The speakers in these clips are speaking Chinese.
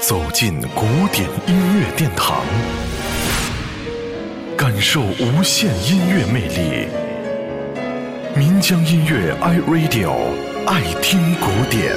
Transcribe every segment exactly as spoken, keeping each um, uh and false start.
走进古典音乐殿堂，感受无限音乐魅力。民江音乐 iRadio， 爱听古典。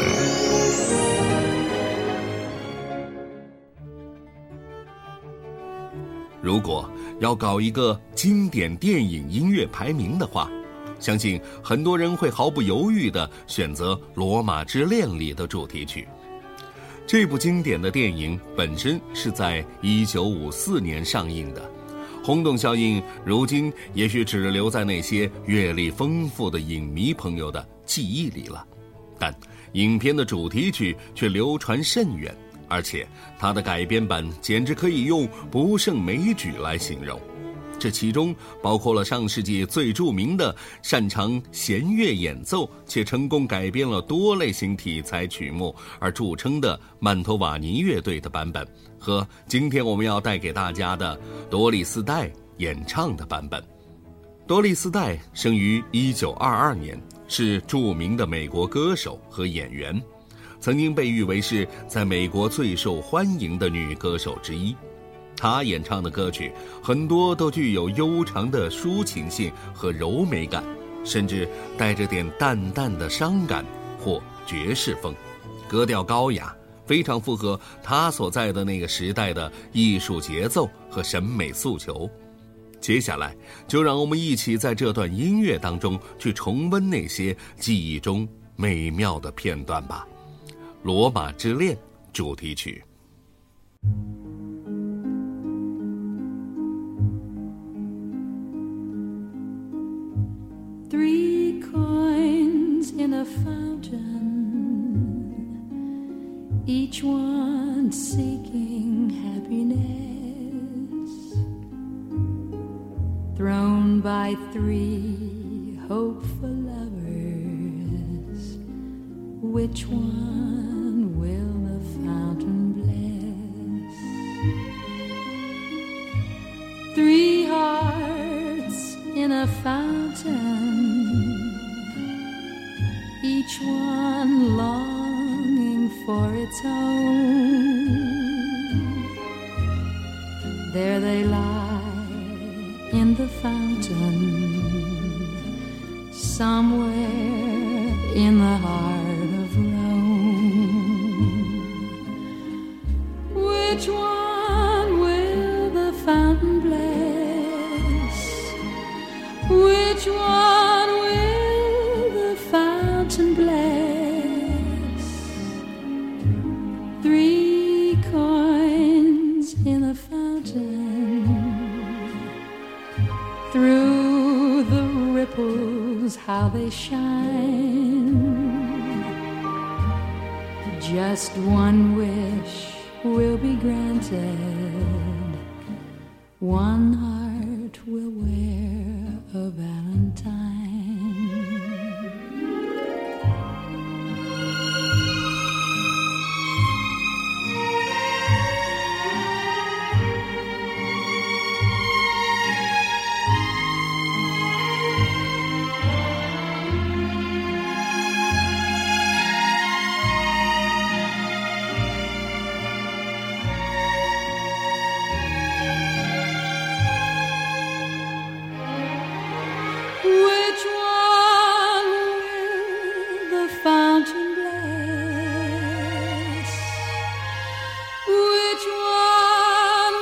如果要搞一个经典电影音乐排名的话，相信很多人会毫不犹豫地选择《罗马之恋》里的主题曲。这部经典的电影本身是在一九五四年上映的，轰动效应如今也许只留在那些阅历丰富的影迷朋友的记忆里了，但影片的主题曲却流传甚远，而且它的改编版简直可以用不胜枚举来形容。这其中包括了上世纪最著名的擅长弦乐演奏且成功改编了多类型题材曲目而著称的曼托瓦尼乐队的版本，和今天我们要带给大家的多丽丝戴演唱的版本。多丽丝戴生于一九二二年，是著名的美国歌手和演员，曾经被誉为是在美国最受欢迎的女歌手之一。她演唱的歌曲很多都具有悠长的抒情性和柔美感，甚至带着点淡淡的伤感或爵士风，格调高雅，非常符合她所在的那个时代的艺术节奏和审美诉求。接下来就让我们一起在这段音乐当中去重温那些记忆中美妙的片段吧。《罗马之恋》主题曲。 Three coins in a fountain, each one seeking happiness, thrown by three hopeful lovers. Which one will the fountain bless? Three hearts in a fountain, each one longing for its own. There they lie in the fountain, somewhere in the heart of Rome. Which one will the fountain bless? Which one will the fountain bless? Three coins in a fountain, through the ripples how they shine. Just one wish will be granted, one heart will wear a valentine. Which one will the fountain bless? Which one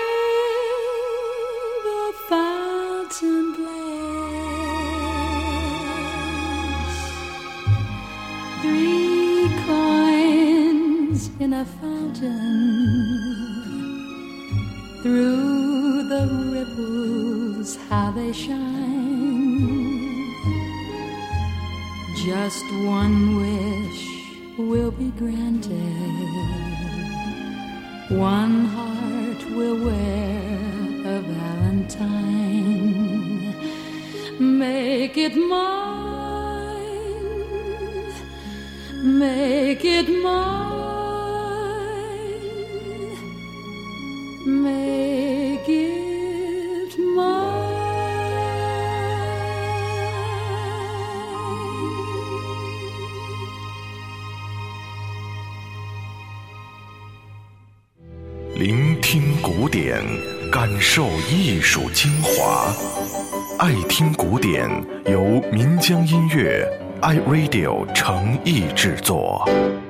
will the fountain bless? Three coins in a fountain, through the ripples how they shine. Just one wish will be granted, one heart will wear a valentine. Make it mine, make it mine, make it mine. 聆听古典，感受艺术精华。爱听古典，由民江音乐 iRadio 诚意制作。